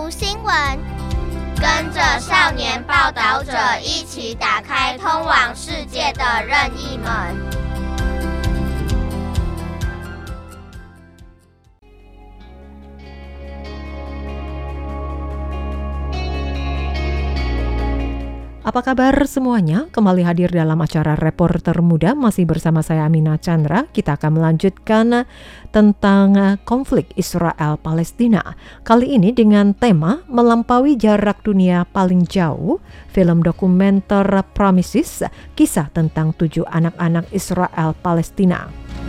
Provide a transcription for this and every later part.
讀新聞，跟着少年報導者一起打開通往世界的任意門。 Apa kabar semuanya? Kembali hadir dalam acara Reporter Muda, masih bersama saya Amina Chandra. Kita akan melanjutkan tentang konflik Israel-Palestina. Kali ini dengan tema Melampaui Jarak Dunia Paling Jauh, film dokumenter Promises, kisah tentang 7 anak-anak Israel-Palestina.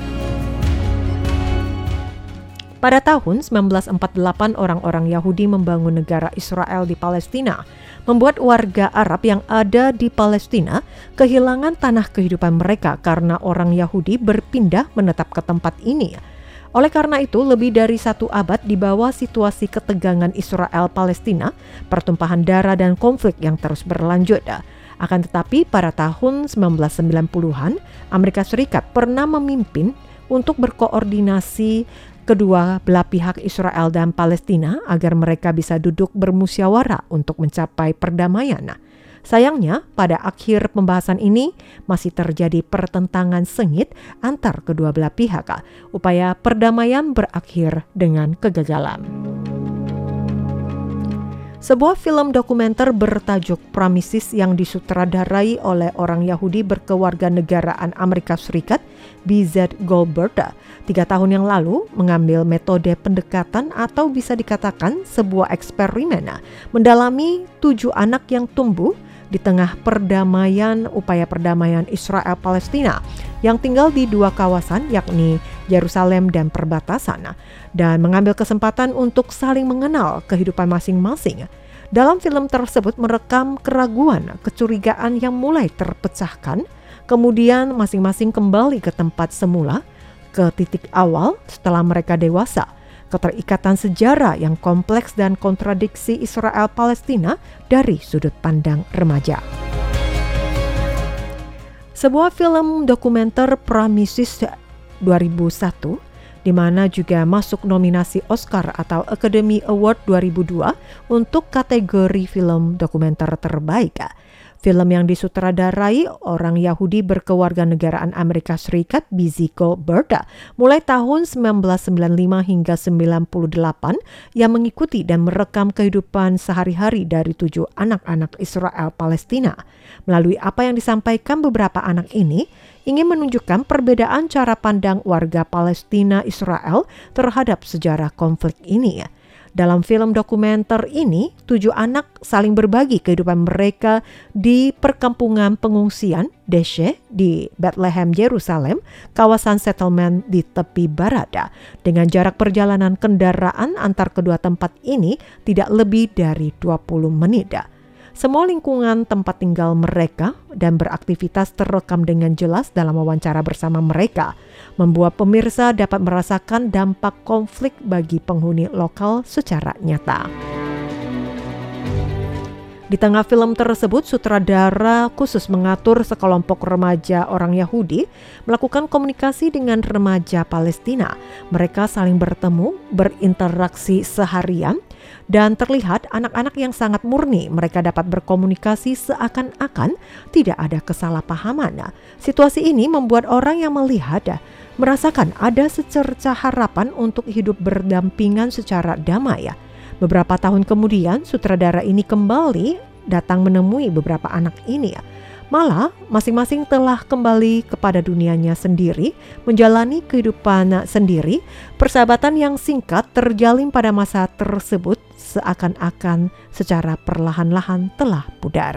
Pada tahun 1948, orang-orang Yahudi membangun negara Israel di Palestina, membuat warga Arab yang ada di Palestina kehilangan tanah kehidupan mereka karena orang Yahudi berpindah menetap ke tempat ini. Oleh karena itu, lebih dari 1 abad di bawah situasi ketegangan Israel-Palestina, pertumpahan darah dan konflik yang terus berlanjut. Akan tetapi pada tahun 1990-an, Amerika Serikat pernah memimpin untuk berkoordinasi kedua belah pihak Israel dan Palestina agar mereka bisa duduk bermusyawarah untuk mencapai perdamaian. Sayangnya, pada akhir pembahasan ini masih terjadi pertentangan sengit antar kedua belah pihak. Upaya perdamaian berakhir dengan kegagalan. Sebuah film dokumenter bertajuk Promises yang disutradarai oleh orang Yahudi berkewarganegaraan Amerika Serikat, B.Z. Goldberg, 3 tahun yang lalu mengambil metode pendekatan atau bisa dikatakan sebuah eksperimen mendalami 7 anak yang tumbuh di tengah upaya perdamaian Israel-Palestina yang tinggal di 2 kawasan, yakni Yerusalem dan perbatasan, dan mengambil kesempatan untuk saling mengenal kehidupan masing-masing. Dalam film tersebut merekam keraguan, kecurigaan yang mulai terpecahkan, kemudian masing-masing kembali ke tempat semula, ke titik awal setelah mereka dewasa. Keterikatan sejarah yang kompleks dan kontradiksi Israel-Palestina dari sudut pandang remaja. Sebuah film dokumenter Promises 2001, di mana juga masuk nominasi Oscar atau Academy Award 2002 untuk kategori film dokumenter terbaik. Film yang disutradarai orang Yahudi berkewarganegaraan Amerika Serikat, B.Z. Goldberg, mulai tahun 1995 hingga 98, yang mengikuti dan merekam kehidupan sehari-hari dari 7 anak-anak Israel Palestina. Melalui apa yang disampaikan beberapa anak ini, ingin menunjukkan perbedaan cara pandang warga Palestina Israel terhadap sejarah konflik ini. Dalam film dokumenter ini, 7 anak saling berbagi kehidupan mereka di perkampungan pengungsian Deshe di Bethlehem, Yerusalem, kawasan settlement di tepi barat. Dengan jarak perjalanan kendaraan antar kedua tempat ini tidak lebih dari 20 menit. Semua lingkungan tempat tinggal mereka dan beraktivitas terekam dengan jelas dalam wawancara bersama mereka, membuat pemirsa dapat merasakan dampak konflik bagi penghuni lokal secara nyata. Di tengah film tersebut, sutradara khusus mengatur sekelompok remaja orang Yahudi melakukan komunikasi dengan remaja Palestina. Mereka saling bertemu, berinteraksi seharian, dan terlihat anak-anak yang sangat murni. Mereka dapat berkomunikasi seakan-akan tidak ada kesalahpahaman. Situasi ini membuat orang yang melihat merasakan ada secerca harapan untuk hidup berdampingan secara damai. Beberapa tahun kemudian, sutradara ini kembali datang menemui beberapa anak ini. Malah, masing-masing telah kembali kepada dunianya sendiri, menjalani kehidupan sendiri. Persahabatan yang singkat terjalin pada masa tersebut seakan-akan secara perlahan-lahan telah pudar.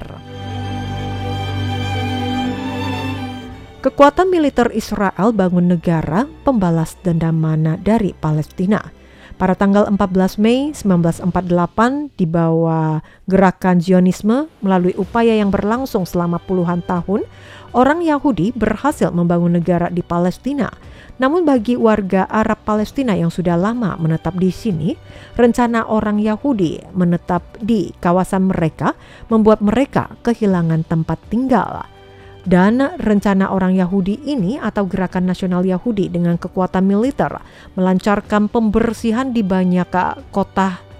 Kekuatan militer Israel bangun negara pembalas dendaman dari Palestina. Pada tanggal 14 Mei 1948, di bawah gerakan Zionisme melalui upaya yang berlangsung selama puluhan tahun, orang Yahudi berhasil membangun negara di Palestina. Namun bagi warga Arab Palestina yang sudah lama menetap di sini, rencana orang Yahudi menetap di kawasan mereka membuat mereka kehilangan tempat tinggal. Dan rencana orang Yahudi ini atau Gerakan Nasional Yahudi dengan kekuatan militer melancarkan pembersihan di banyak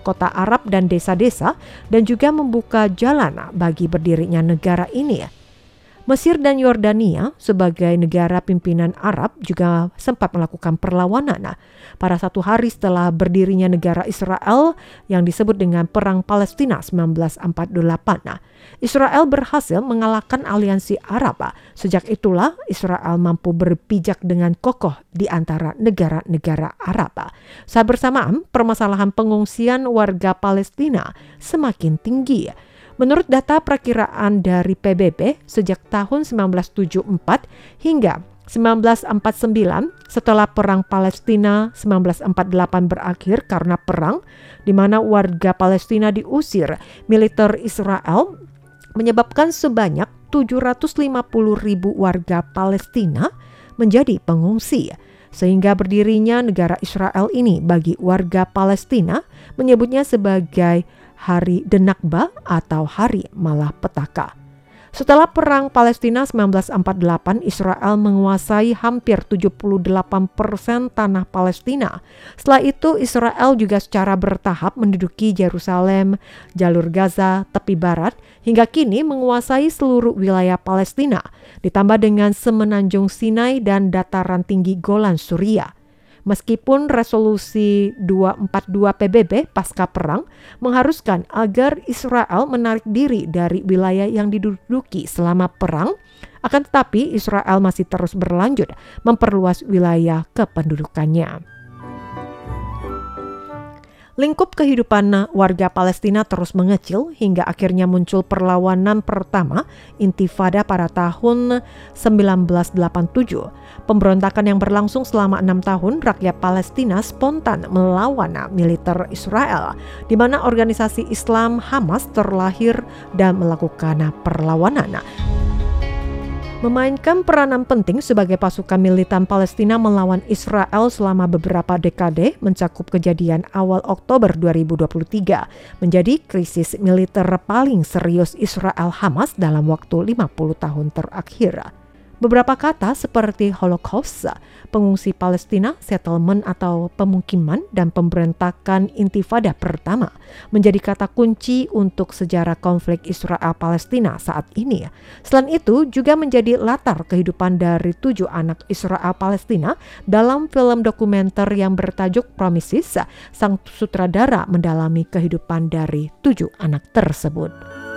kota-kota Arab dan desa-desa dan juga membuka jalan bagi berdirinya negara ini. Mesir dan Yordania sebagai negara pimpinan Arab juga sempat melakukan perlawanan pada 1 hari setelah berdirinya negara Israel yang disebut dengan Perang Palestina 1948. Israel berhasil mengalahkan aliansi Arab. Sejak itulah Israel mampu berpijak dengan kokoh di antara negara-negara Arab. Saat bersamaan, permasalahan pengungsian warga Palestina semakin tinggi. Menurut data perakiraan dari PBB, sejak tahun 1974 hingga 1949 setelah Perang Palestina 1948 berakhir karena perang di mana warga Palestina diusir militer Israel menyebabkan sebanyak 750.000 warga Palestina menjadi pengungsi. Sehingga berdirinya negara Israel ini bagi warga Palestina menyebutnya sebagai Hari Denakba atau Hari Malapetaka. Setelah Perang Palestina 1948, Israel menguasai hampir 78% tanah Palestina. Setelah itu, Israel juga secara bertahap menduduki Yerusalem, jalur Gaza, tepi barat, hingga kini menguasai seluruh wilayah Palestina, ditambah dengan semenanjung Sinai dan dataran tinggi Golan Suriah. Meskipun resolusi 242 PBB pasca perang mengharuskan agar Israel menarik diri dari wilayah yang diduduki selama perang, akan tetapi Israel masih terus berlanjut memperluas wilayah kependudukannya. Lingkup kehidupan warga Palestina terus mengecil hingga akhirnya muncul perlawanan pertama Intifada pada tahun 1987. Pemberontakan yang berlangsung selama 6 tahun, rakyat Palestina spontan melawan militer Israel, di mana organisasi Islam Hamas terlahir dan melakukan perlawanan. Memainkan peranan penting sebagai pasukan militan Palestina melawan Israel selama beberapa dekade mencakup kejadian awal Oktober 2023 menjadi krisis militer paling serius Israel Hamas dalam waktu 50 tahun terakhir. Beberapa kata seperti Holocaust, pengungsi Palestina, settlement atau pemukiman, dan pemberontakan Intifada pertama menjadi kata kunci untuk sejarah konflik Israel-Palestina saat ini. Selain itu juga menjadi latar kehidupan dari 7 anak Israel Palestina dalam film dokumenter yang bertajuk Promises. Sang sutradara mendalami kehidupan dari 7 anak tersebut.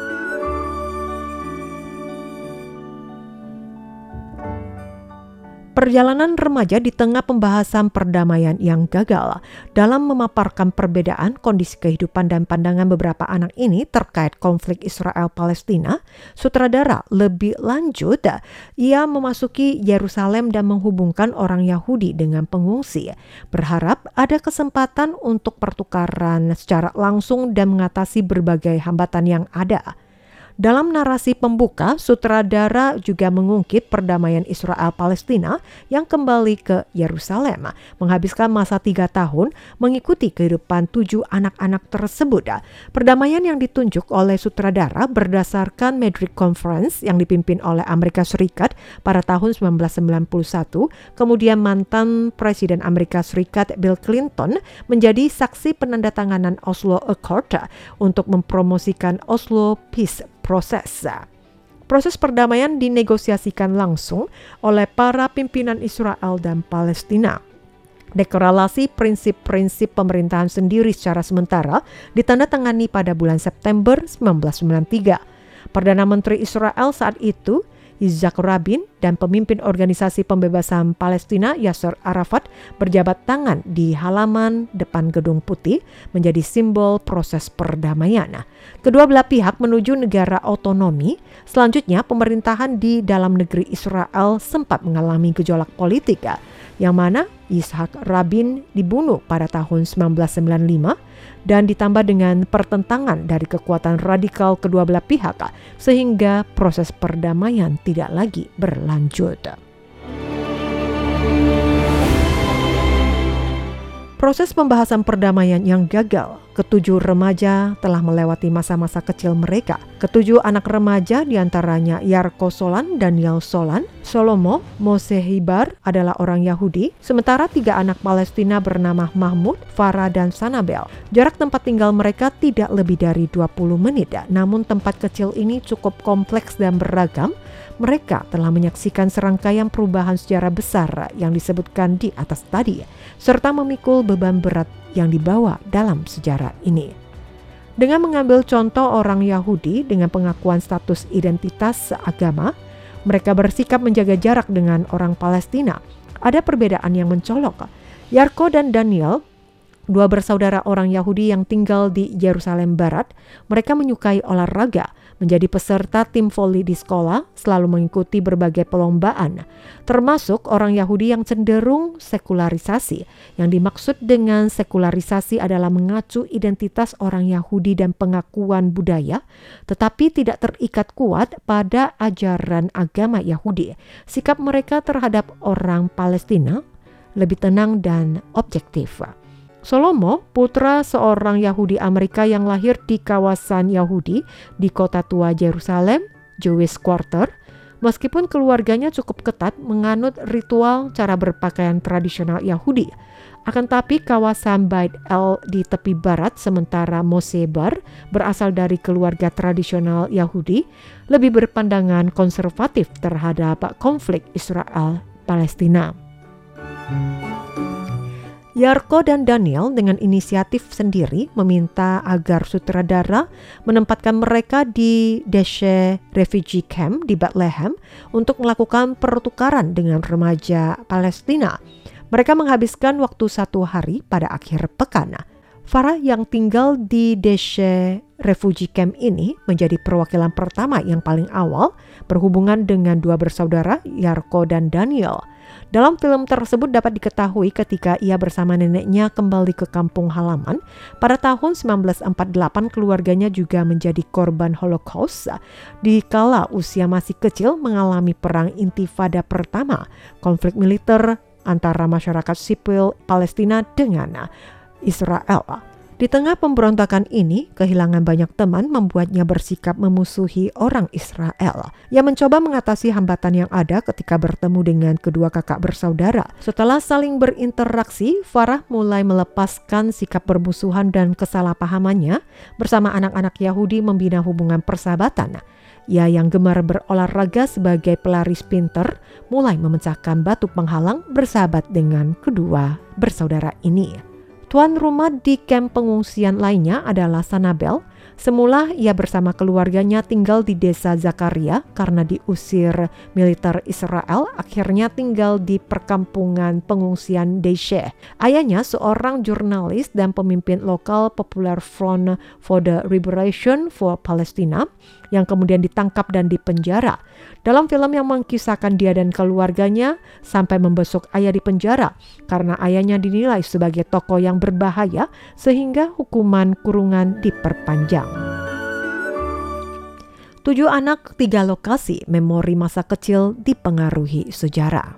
Perjalanan remaja di tengah pembahasan perdamaian yang gagal. Dalam memaparkan perbedaan kondisi kehidupan dan pandangan beberapa anak ini terkait konflik Israel-Palestina, sutradara lebih lanjut, ia memasuki Yerusalem dan menghubungkan orang Yahudi dengan pengungsi, berharap ada kesempatan untuk pertukaran secara langsung dan mengatasi berbagai hambatan yang ada. Dalam narasi pembuka, sutradara juga mengungkit perdamaian Israel-Palestina yang kembali ke Yerusalem, menghabiskan masa 3 tahun mengikuti kehidupan 7 anak-anak tersebut. Perdamaian yang ditunjuk oleh sutradara berdasarkan Madrid Conference yang dipimpin oleh Amerika Serikat pada tahun 1991, kemudian mantan Presiden Amerika Serikat Bill Clinton menjadi saksi penandatanganan Oslo Accord untuk mempromosikan Oslo Peace Proses perdamaian dinegosiasikan langsung oleh para pimpinan Israel dan Palestina. Deklarasi prinsip-prinsip pemerintahan sendiri secara sementara ditandatangani pada bulan September 1993. Perdana Menteri Israel saat itu, Yitzhak Rabin, dan pemimpin organisasi pembebasan Palestina Yasser Arafat berjabat tangan di halaman depan Gedung Putih menjadi simbol proses perdamaian. Kedua belah pihak menuju negara otonomi. Selanjutnya, pemerintahan di dalam negeri Israel sempat mengalami gejolak politik, yang mana Yitzhak Rabin dibunuh pada tahun 1995 dan ditambah dengan pertentangan dari kekuatan radikal kedua belah pihak, sehingga proses perdamaian tidak lagi berlanjut. Proses pembahasan perdamaian yang gagal. Ketujuh remaja telah melewati masa-masa kecil mereka. Ketujuh anak remaja diantaranya Yarko Solan, Daniel Solan, Shlomo Mosehibar adalah orang Yahudi, sementara 3 anak Palestina bernama Mahmud, Farah, dan Sanabel. Jarak tempat tinggal mereka tidak lebih dari 20 menit, namun tempat kecil ini cukup kompleks dan beragam. Mereka telah menyaksikan serangkaian perubahan sejarah besar yang disebutkan di atas tadi, serta memikul beban berat yang dibawa dalam sejarah ini. Dengan mengambil contoh orang Yahudi dengan pengakuan status identitas agama, mereka bersikap menjaga jarak dengan orang Palestina. Ada perbedaan yang mencolok. Yarko dan Daniel, 2 bersaudara orang Yahudi yang tinggal di Yerusalem Barat, mereka menyukai olahraga, menjadi peserta tim voli di sekolah, selalu mengikuti berbagai perlombaan, termasuk orang Yahudi yang cenderung sekularisasi. Yang dimaksud dengan sekularisasi adalah mengacu identitas orang Yahudi dan pengakuan budaya, tetapi tidak terikat kuat pada ajaran agama Yahudi. Sikap mereka terhadap orang Palestina lebih tenang dan objektif. Shlomo, putra seorang Yahudi Amerika yang lahir di kawasan Yahudi di kota tua Yerusalem, Jewish Quarter, meskipun keluarganya cukup ketat menganut ritual cara berpakaian tradisional Yahudi. Akan tapi kawasan Beit El di tepi barat, sementara Mosebar berasal dari keluarga tradisional Yahudi, lebih berpandangan konservatif terhadap konflik Israel-Palestina. Yarko dan Daniel dengan inisiatif sendiri meminta agar sutradara menempatkan mereka di Deshe Refugee Camp di Bethlehem untuk melakukan pertukaran dengan remaja Palestina. Mereka menghabiskan waktu 1 hari pada akhir pekan. Farah yang tinggal di Deshe Refugee Camp ini menjadi perwakilan pertama yang paling awal berhubungan dengan 2 bersaudara, Yarko dan Daniel. Dalam film tersebut dapat diketahui ketika ia bersama neneknya kembali ke kampung halaman. Pada tahun 1948 keluarganya juga menjadi korban Holocaust. Dikala usia masih kecil mengalami perang Intifada pertama, konflik militer antara masyarakat sipil Palestina dengan Israel. Di tengah pemberontakan ini, kehilangan banyak teman membuatnya bersikap memusuhi orang Israel. Ia mencoba mengatasi hambatan yang ada ketika bertemu dengan kedua kakak bersaudara. Setelah saling berinteraksi, Farah mulai melepaskan sikap bermusuhan dan kesalahpahamannya bersama anak-anak Yahudi membina hubungan persahabatan. Ia yang gemar berolahraga sebagai pelari sprinter mulai memecahkan batu penghalang bersahabat dengan kedua bersaudara ini. Tuan rumah di kamp pengungsian lainnya adalah Sanabel. Semula ia bersama keluarganya tinggal di desa Zakaria karena diusir militer Israel, akhirnya tinggal di perkampungan pengungsian Deshe. Ayahnya seorang jurnalis dan pemimpin lokal Popular Front for the Liberation for Palestine yang kemudian ditangkap dan dipenjara. Dalam film yang mengkisahkan dia dan keluarganya sampai membesuk ayah di penjara karena ayahnya dinilai sebagai tokoh yang berbahaya sehingga hukuman kurungan diperpanjang. 7 anak, 3 lokasi, memori masa kecil dipengaruhi sejarah.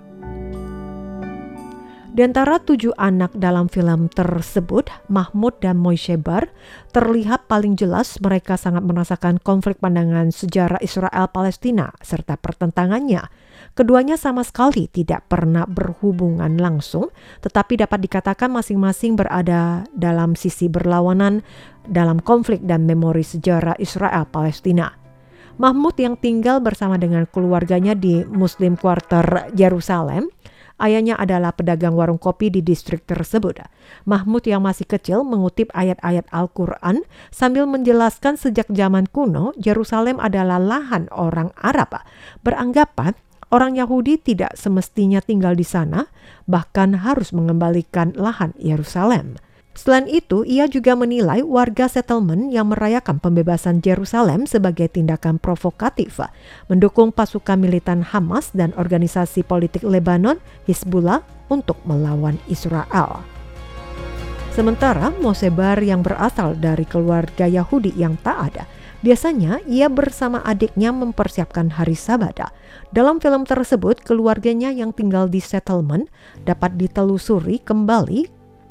Di antara 7 anak dalam film tersebut, Mahmud dan Mosebar, terlihat paling jelas mereka sangat merasakan konflik pandangan sejarah Israel-Palestina serta pertentangannya. Keduanya sama sekali tidak pernah berhubungan langsung, tetapi dapat dikatakan masing-masing berada dalam sisi berlawanan dalam konflik dan memori sejarah Israel-Palestina. Mahmud yang tinggal bersama dengan keluarganya di Muslim Quarter Yerusalem, ayahnya adalah pedagang warung kopi di distrik tersebut. Mahmud yang masih kecil mengutip ayat-ayat Al-Quran sambil menjelaskan sejak zaman kuno Yerusalem adalah lahan orang Arab. Beranggapan orang Yahudi tidak semestinya tinggal di sana, bahkan harus mengembalikan lahan Yerusalem. Selain itu, ia juga menilai warga settlement yang merayakan pembebasan Yerusalem sebagai tindakan provokatif, mendukung pasukan militan Hamas dan organisasi politik Lebanon, Hizbullah, untuk melawan Israel. Sementara Mosebar yang berasal dari keluarga Yahudi yang taat, biasanya ia bersama adiknya mempersiapkan hari Sabat. Dalam film tersebut, keluarganya yang tinggal di settlement dapat ditelusuri kembali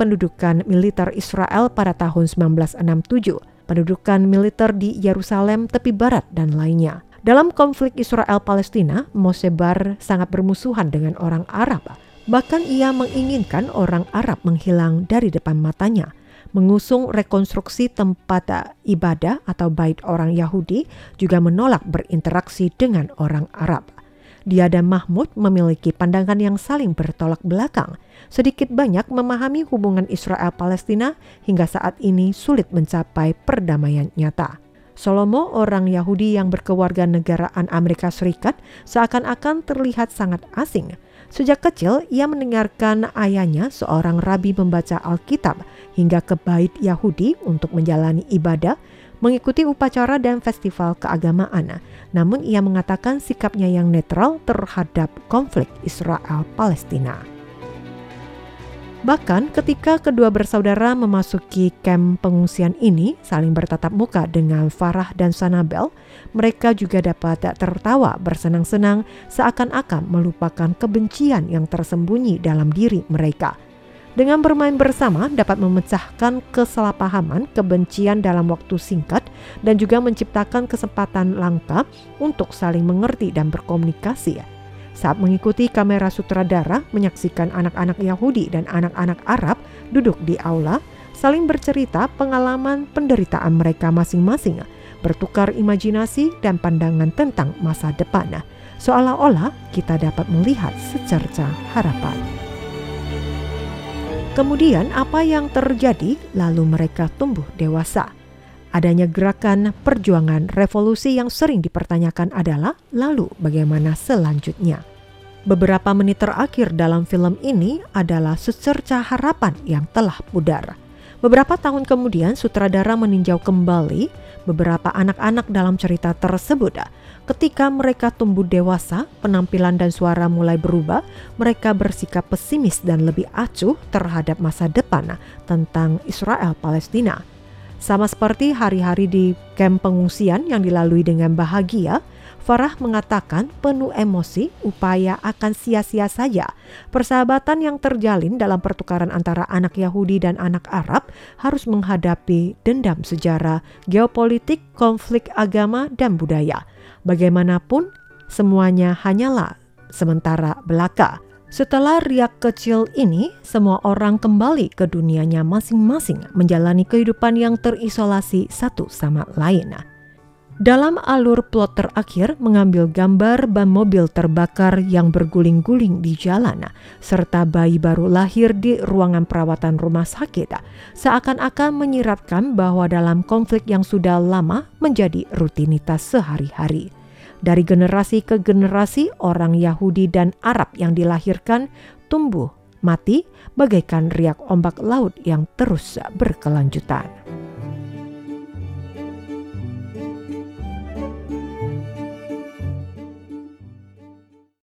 pendudukan militer Israel pada tahun 1967, pendudukan militer di Yerusalem tepi barat, dan lainnya. Dalam konflik Israel-Palestina, Moshe sangat bermusuhan dengan orang Arab. Bahkan ia menginginkan orang Arab menghilang dari depan matanya, mengusung rekonstruksi tempat ibadah atau bait orang Yahudi, juga menolak berinteraksi dengan orang Arab. Dia dan Mahmud memiliki pandangan yang saling bertolak belakang, sedikit banyak memahami hubungan Israel-Palestina hingga saat ini sulit mencapai perdamaian nyata. Shlomo, orang Yahudi yang berkewarganegaraan Amerika Serikat, seakan-akan terlihat sangat asing. Sejak kecil, ia mendengarkan ayahnya, seorang rabi, membaca Alkitab hingga ke bait Yahudi untuk menjalani ibadah, mengikuti upacara dan festival keagamaan. Namun ia mengatakan sikapnya yang netral terhadap konflik Israel-Palestina. Bahkan ketika kedua bersaudara memasuki kamp pengungsian ini saling bertatap muka dengan Farah dan Sanabel, mereka juga dapat tertawa bersenang-senang seakan-akan melupakan kebencian yang tersembunyi dalam diri mereka. Dengan bermain bersama dapat memecahkan kesalahpahaman, kebencian dalam waktu singkat, dan juga menciptakan kesempatan langka untuk saling mengerti dan berkomunikasi. Saat mengikuti kamera sutradara menyaksikan anak-anak Yahudi dan anak-anak Arab duduk di aula, saling bercerita pengalaman penderitaan mereka masing-masing, bertukar imajinasi dan pandangan tentang masa depan. Seolah-olah kita dapat melihat secerca harapan. Kemudian apa yang terjadi? Lalu mereka tumbuh dewasa. Adanya gerakan perjuangan revolusi yang sering dipertanyakan adalah lalu bagaimana selanjutnya? Beberapa menit terakhir dalam film ini adalah secerca harapan yang telah pudar. Beberapa tahun kemudian sutradara meninjau kembali beberapa anak-anak dalam cerita tersebut. Ketika mereka tumbuh dewasa, penampilan dan suara mulai berubah, mereka bersikap pesimis dan lebih acuh terhadap masa depan tentang Israel-Palestina. Sama seperti hari-hari di kamp pengungsian yang dilalui dengan bahagia, Farah mengatakan penuh emosi upaya akan sia-sia saja. Persahabatan yang terjalin dalam pertukaran antara anak Yahudi dan anak Arab harus menghadapi dendam sejarah, geopolitik, konflik agama, dan budaya. Bagaimanapun, semuanya hanyalah sementara belaka. Setelah riak kecil ini, semua orang kembali ke dunianya masing-masing menjalani kehidupan yang terisolasi satu sama lain. Dalam alur plot terakhir mengambil gambar ban mobil terbakar yang berguling-guling di jalan, serta bayi baru lahir di ruangan perawatan rumah sakit, seakan-akan menyiratkan bahwa dalam konflik yang sudah lama menjadi rutinitas sehari-hari. Dari generasi ke generasi, orang Yahudi dan Arab yang dilahirkan tumbuh mati bagaikan riak ombak laut yang terus berkelanjutan.